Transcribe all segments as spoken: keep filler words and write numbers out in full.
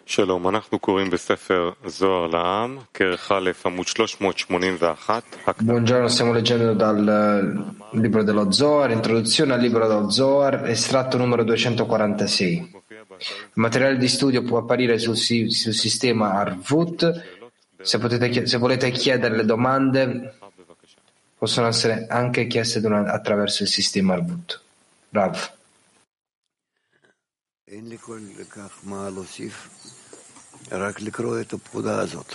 שלום, אנחנו קוראים בספר זוהר לעם, כרך א', עמוד שלוש מאות שמונים ואחת. Buongiorno, stiamo leggendo dal libro dello Zohar, introduzione al libro dello Zohar, estratto numero duecentoquarantasei. Il materiale di studio può apparire sul, sul sistema Arvut. Se, potete, se volete chiedere le domande, possono essere anche chieste attraverso il sistema Arvut. Rav. רק לקרוא את הפקודה הזאת,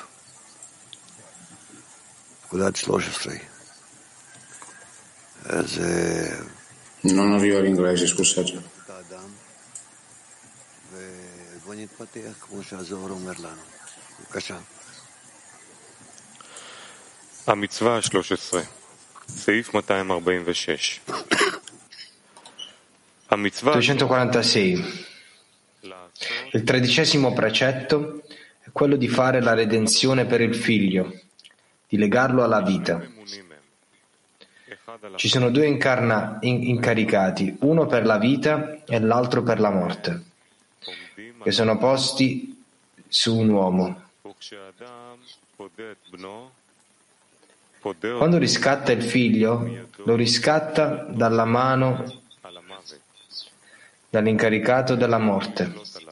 פקודת שלוש עשרה. אז... Non arriva l'inglese, scusate. ובוא נתפתח כמו שהזוהר אומר לנו. בבקשה. המצווה ה-שלוש עשרה, סעיף מאתיים ארבעים ושש. המצווה... duecentoquarantasei. Il tredicesimo precetto è quello di fare la redenzione per il figlio, di legarlo alla vita. Ci sono due incarna, in, incaricati, uno per la vita e l'altro per la morte, che sono posti su un uomo. Quando riscatta il figlio, lo riscatta dalla mano dall'incaricato della morte.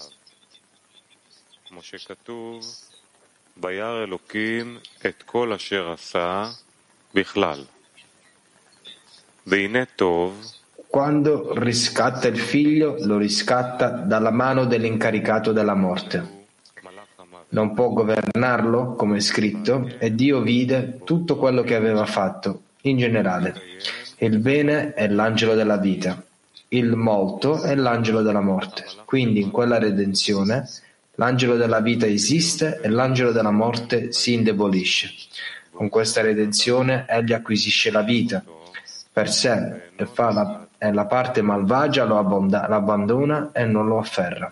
Quando riscatta il figlio, lo riscatta dalla mano dell'incaricato della morte. Non può governarlo, come è scritto, e Dio vide tutto quello che aveva fatto, in generale. Il bene è l'angelo della vita. Il molto è l'angelo della morte. Quindi in quella redenzione l'angelo della vita esiste e l'angelo della morte si indebolisce. Con questa redenzione egli acquisisce la vita per sé e, fa la, e la parte malvagia lo abbonda, l'abbandona e non lo afferra.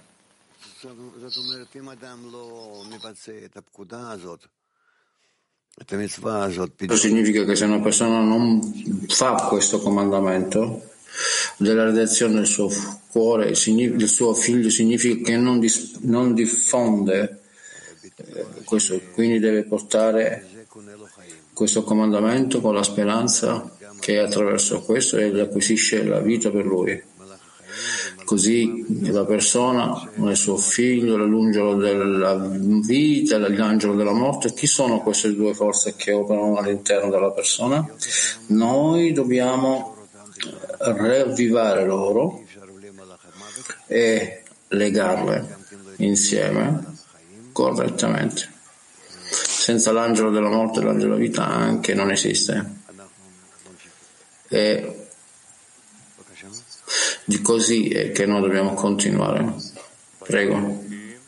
Questo significa che se una persona non fa questo comandamento della redenzione del suo cuore, del suo figlio, significa che non, dis, non diffonde eh, questo, quindi deve portare questo comandamento con la speranza che attraverso questo egli acquisisce la vita per lui. Così la persona, il suo figlio, l'angelo della vita, l'angelo della morte, chi sono queste due forze che operano all'interno della persona? Noi dobbiamo riavvivare loro e legarle insieme correttamente. Senza l'angelo della morte e l'angelo della vita anche non esiste. E di così è che noi dobbiamo continuare. Prego.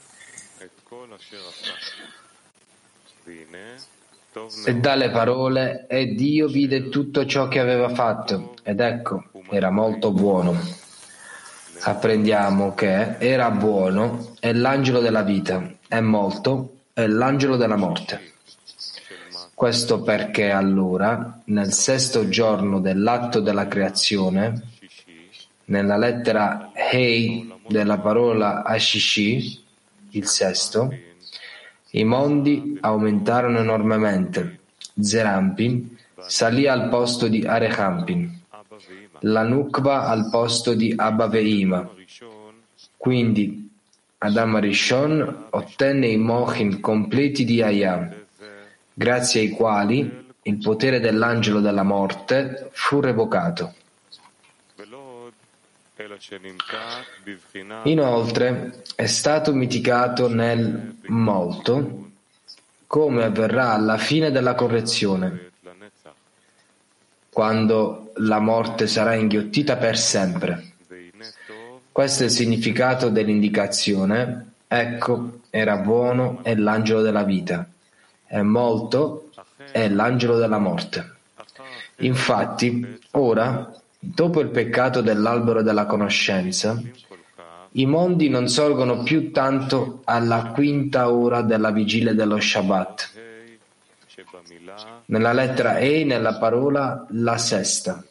E dalle parole, e Dio vide tutto ciò che aveva fatto, ed ecco, era molto buono. Apprendiamo che era buono è l'angelo della vita, è molto è l'angelo della morte. Questo perché allora, nel sesto giorno dell'atto della creazione, nella lettera Hei della parola Ashishi, il sesto, i mondi aumentarono enormemente. Zerampin salì al posto di Arechampin, la Nukva al posto di Abba Veima. Quindi Adam Rishon ottenne i mochin completi di Hayam, grazie ai quali il potere dell'angelo della morte fu revocato. Inoltre è stato mitigato nel molto, come avverrà alla fine della correzione, quando la morte sarà inghiottita per sempre. Questo è il significato dell'indicazione. Ecco, era buono è l'angelo della vita, è molto è l'angelo della morte. Infatti, ora, dopo il peccato dell'albero della conoscenza, i mondi non sorgono più tanto alla quinta ora della vigilia dello Shabbat. Nella lettera E, nella parola la sesta.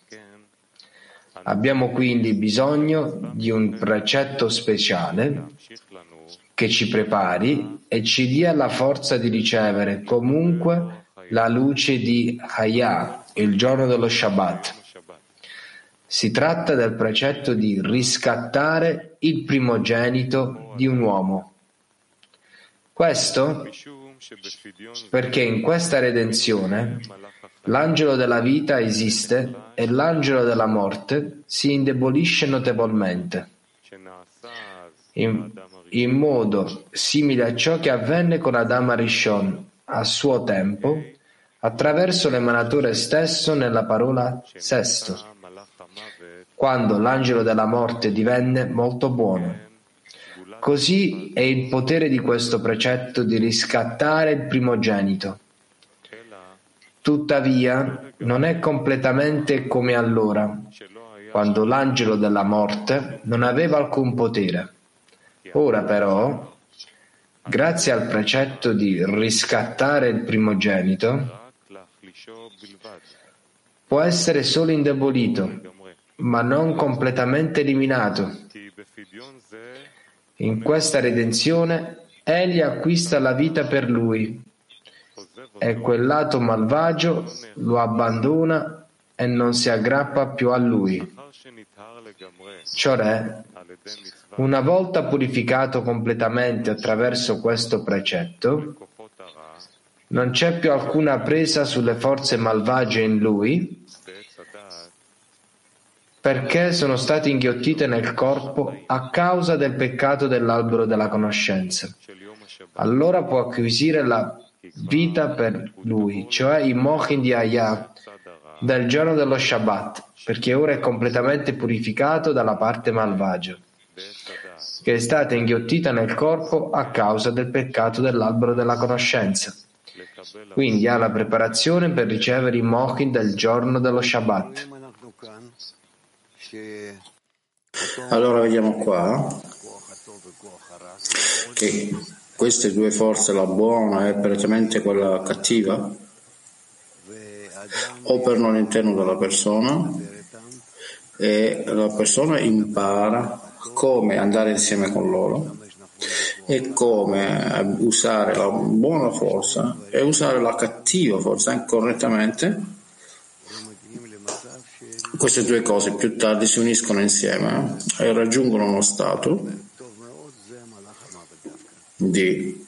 Abbiamo quindi bisogno di un precetto speciale che ci prepari e ci dia la forza di ricevere comunque la luce di Hayah, il giorno dello Shabbat. Si tratta del precetto di riscattare il primogenito di un uomo. Questo perché in questa redenzione l'angelo della vita esiste e l'angelo della morte si indebolisce notevolmente, in, in modo simile a ciò che avvenne con Adam Arishon a suo tempo, attraverso l'emanatore stesso nella parola sesto, quando l'angelo della morte divenne molto buono. Così è il potere di questo precetto di riscattare il primogenito. Tuttavia, non è completamente come allora, quando l'angelo della morte non aveva alcun potere. Ora però, grazie al precetto di riscattare il primogenito, può essere solo indebolito, ma non completamente eliminato. In questa redenzione, egli acquista la vita per lui e quel lato malvagio lo abbandona e non si aggrappa più a lui. Cioè, una volta purificato completamente attraverso questo precetto, non c'è più alcuna presa sulle forze malvagie in lui, perché sono state inghiottite nel corpo a causa del peccato dell'albero della conoscenza. Allora può acquisire la vita per lui, cioè i mochin di Hayah del giorno dello Shabbat, perché ora è completamente purificato dalla parte malvagia, che è stata inghiottita nel corpo a causa del peccato dell'albero della conoscenza. Quindi ha la preparazione per ricevere i mochin del giorno dello Shabbat. Allora vediamo qua che queste due forze, la buona e prettamente quella cattiva, operano all'interno della persona e la persona impara come andare insieme con loro e come usare la buona forza e usare la cattiva forza correttamente. Queste due cose più tardi si uniscono insieme e raggiungono uno stato di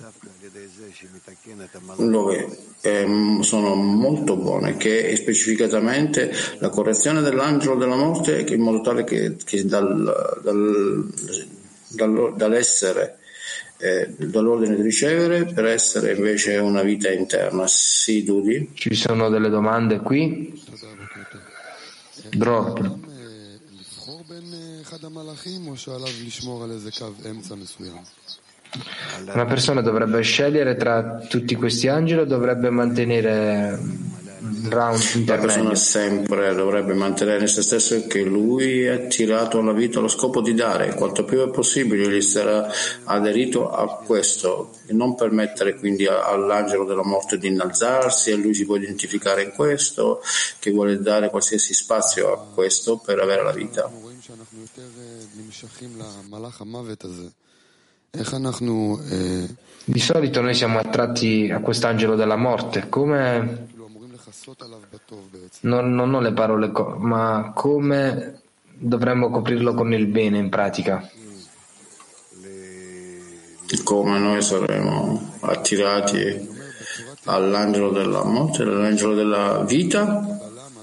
dove eh, sono molto buone, che è specificatamente la correzione dell'angelo della morte, che in modo tale che, che dal, dal, dal, dall'essere eh, dall'ordine di ricevere per essere invece una vita interna. Sì, Dudi? Ci sono delle domande qui? Drop. Una persona dovrebbe scegliere tra tutti questi angeli o dovrebbe mantenere un round intermedio? La persona sempre dovrebbe mantenere in se stesso che lui è attirato alla vita allo scopo di dare, quanto più è possibile gli sarà aderito a questo, e non permettere quindi all'angelo della morte di innalzarsi, e lui si può identificare in questo, che vuole dare qualsiasi spazio a questo per avere la vita. Di solito noi siamo attratti a quest'angelo della morte, come non, non ho le parole, ma come dovremmo coprirlo con il bene in pratica? Come noi saremo attirati all'angelo della morte, all'angelo della vita?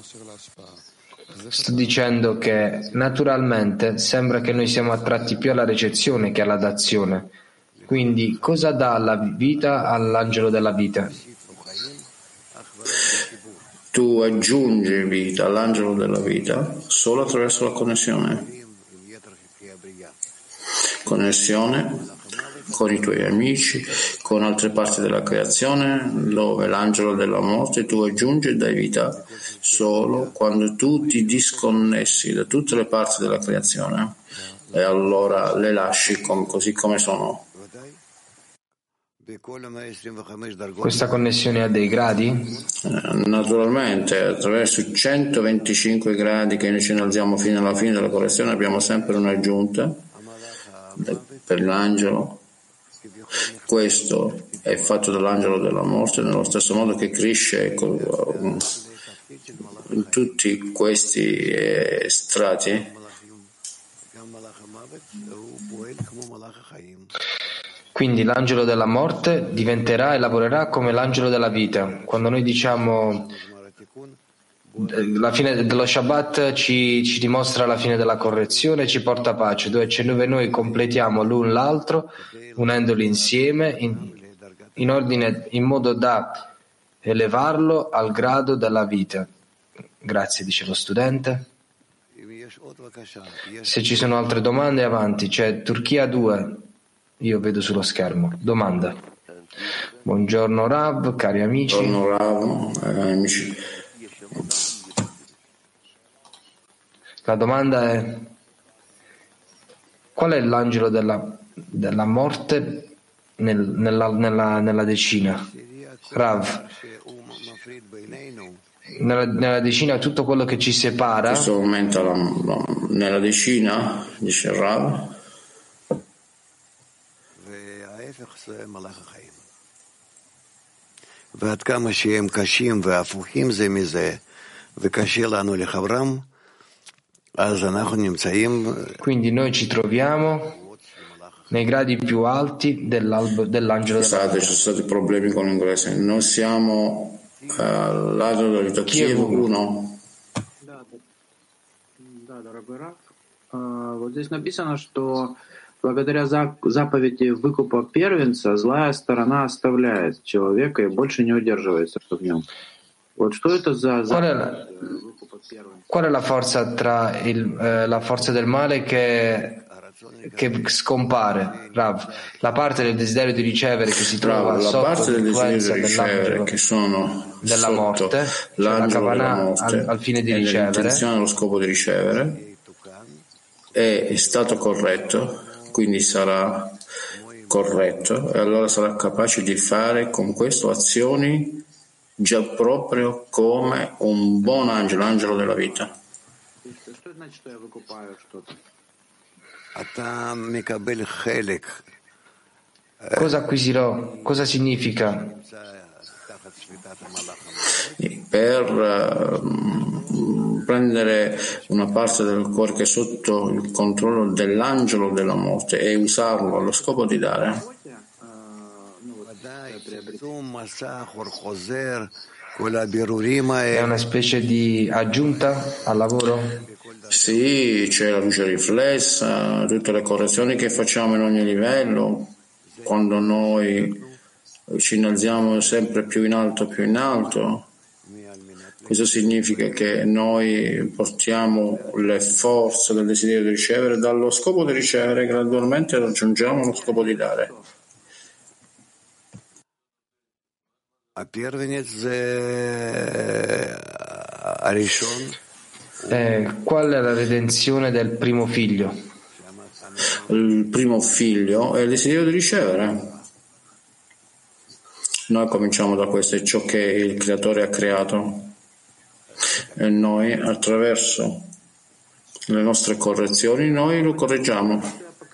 Sto dicendo che naturalmente sembra che noi siamo attratti più alla ricezione che alla dazione. Quindi cosa dà la vita all'angelo della vita? Tu aggiungi vita all'angelo della vita solo attraverso la connessione. Connessione con i tuoi amici, con altre parti della creazione, dove l'angelo della morte tu aggiungi e dai vita solo quando tu ti disconnessi da tutte le parti della creazione e allora le lasci com- così come sono. Questa connessione ha dei gradi? Eh, naturalmente, attraverso i centoventicinque gradi che noi ci innalziamo fino alla fine della correzione abbiamo sempre un'aggiunta per l'angelo Questo è fatto dall'angelo della morte nello stesso modo che cresce in tutti questi eh, strati. Quindi l'angelo della morte diventerà e lavorerà come l'angelo della vita. Quando noi diciamo la fine dello Shabbat ci, ci dimostra la fine della correzione, ci porta pace, dove, dove noi completiamo l'un l'altro unendoli insieme in, in ordine, in modo da elevarlo al grado della vita. Grazie, dice lo studente. Se ci sono altre domande, avanti. C'è Turchia due, io vedo sullo schermo. Domanda. Buongiorno Rav, cari amici. Buongiorno Rav, eh, amici. La domanda è: qual è l'angelo della, della morte nel, nella, nella, nella decina? Rav, nella, nella decina tutto quello che ci separa. In questo momento la, la, nella decina, dice Rav, ועד כמה שהם קשים והפוכים זה מזה וקשה לנו לחברם, אז אנחנו נמצאים. Quindi noi ci troviamo nei gradi più alti dell'angelo della vita. Ci sono stati problemi con l'inglese. Noi siamo uh, al lato della vita. Kiev uno. Да, да, дорогой Рав. Вот здесь написано, что благодаря заповеди выкупа первенца злая сторона оставляет человека и больше не удерживается в нем. Вот что это за заповедь выкупа первенца? Qual è la forza tra il, eh, la forza del male che, che scompare, Rav? La parte del desiderio di ricevere che si trova Rav, sotto la parte del desiderio l'influenza di ricevere che sono della sotto morte, l'angelo cioè la della morte al, al fine di e ricevere, l'intenzione allo scopo di ricevere è, è stato corretto, quindi sarà corretto e allora sarà capace di fare con questo azioni già proprio come un buon angelo, angelo della vita. Cosa acquisirò? Cosa significa? Per uh, prendere una parte del cuore che è sotto il controllo dell'angelo della morte e usarlo allo scopo di dare. È una specie di aggiunta al lavoro? Sì, c'è la luce riflessa, tutte le correzioni che facciamo in ogni livello, quando noi ci innalziamo sempre più in alto, più in alto. Questo significa che noi portiamo le forze del desiderio di ricevere dallo scopo di ricevere, gradualmente raggiungiamo lo scopo di dare. Eh, qual è la redenzione del primo figlio? Il primo figlio è il desiderio di ricevere. Noi cominciamo da questo, è ciò che il creatore ha creato e noi attraverso le nostre correzioni noi lo correggiamo.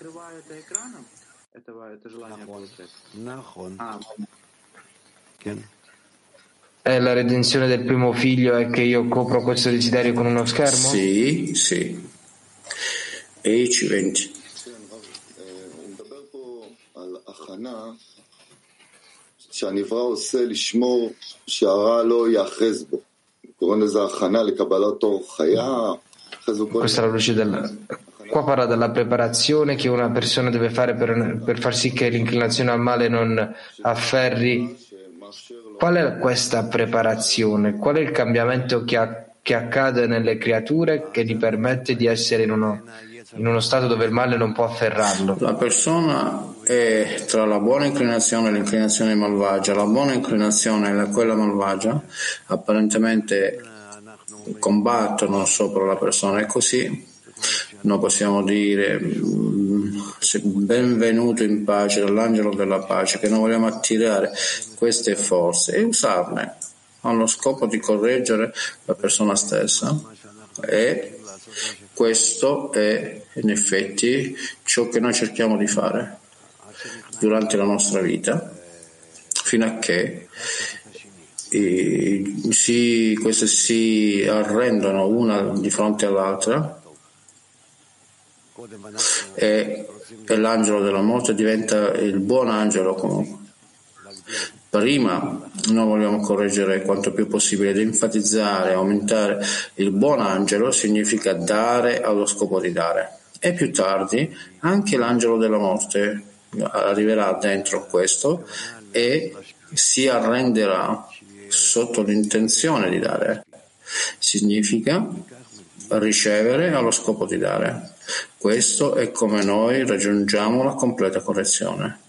E la redenzione del primo figlio è che io copro questo desiderio con uno schermo? Sì, sì. E ci venti. שהנברא עושה לשמור שהרע לא יאחז בו. קוראים לזה הכנה לקבלת אור חיה. Questa è la luce del... Qua parla della preparazione che una persona deve fare per, per far sì che l'inclinazione al male non afferri. Qual è questa preparazione? Qual è il cambiamento che, ha, che accade nelle creature che gli permette di essere in uno, in uno stato dove il male non può afferrarlo? La persona è tra la buona inclinazione e l'inclinazione malvagia. La buona inclinazione e quella malvagia apparentemente combattono sopra la persona e così noi possiamo dire benvenuto in pace dall'angelo della pace, che noi vogliamo attirare queste forze e usarle allo scopo di correggere la persona stessa, e questo è in effetti ciò che noi cerchiamo di fare. durante la nostra vita, fino a che eh, si, queste si arrendono una di fronte all'altra e, e l'angelo della morte diventa il buon angelo comunque. Prima noi vogliamo correggere quanto più possibile ed enfatizzare, aumentare il buon angelo significa dare allo scopo di dare, e più tardi anche l'angelo della morte arriverà dentro questo e si arrenderà sotto l'intenzione di dare. Significa ricevere allo scopo di dare. Questo è come noi raggiungiamo la completa correzione.